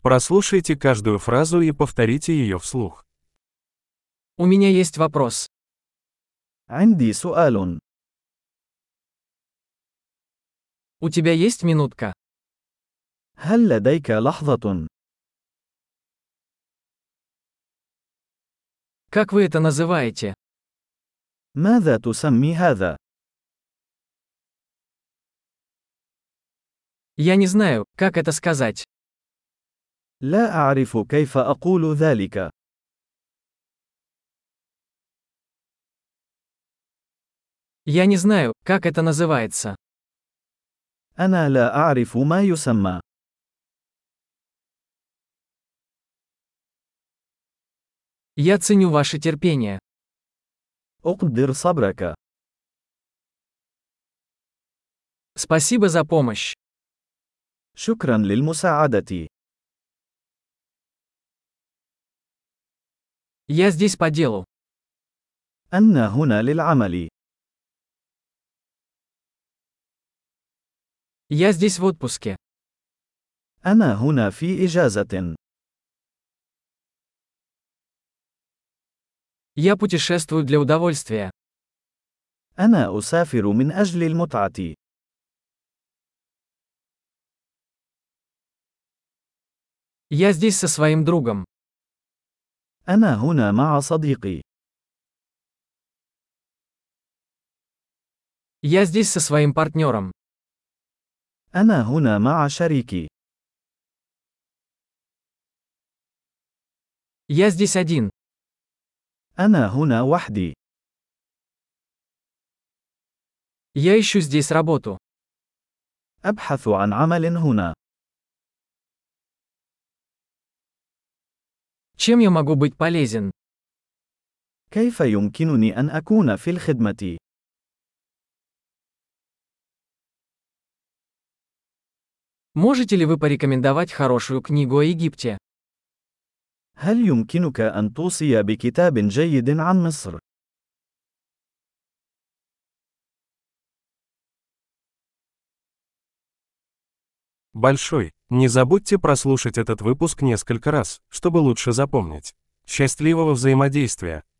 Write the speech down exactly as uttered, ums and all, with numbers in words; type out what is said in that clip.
Прослушайте каждую фразу и повторите ее вслух. У меня есть вопрос. عندي سؤال. У тебя есть минутка? هل لديك لحظة؟ Как вы это называете? ماذا تسمي هذا؟ Я не знаю, как это сказать. لا أعرف كيف أقول ذلك. Я не знаю, как это называется. أنا لا أعرف ما يسمى. Я ценю ваше терпение. أقدر صبرك. Спасибо за помощь. شكرا للمساعدة. Я здесь по делу. أنا هنا للعمل. Я здесь в отпуске. أنا هنا في إجازة. Я путешествую для удовольствия. أنا أسافر من أجل المتعة. Я здесь со своим другом. أنا هنا مع صديقي. Я здесь со своим партнером. أنا هنا مع شريكي. Я здесь один. أنا هنا وحدي. Я ищу здесь работу. أبحث عن عمل هنا. Чем я могу быть полезен? كيف يمكنني أن أكون في الخدمة؟ Можете ли вы порекомендовать хорошую книгу о Египте? هل يمكنك أن توصي بكتاب جيد عن مصر؟ Большой. Не забудьте прослушать этот выпуск несколько раз, чтобы лучше запомнить. Счастливого взаимодействия!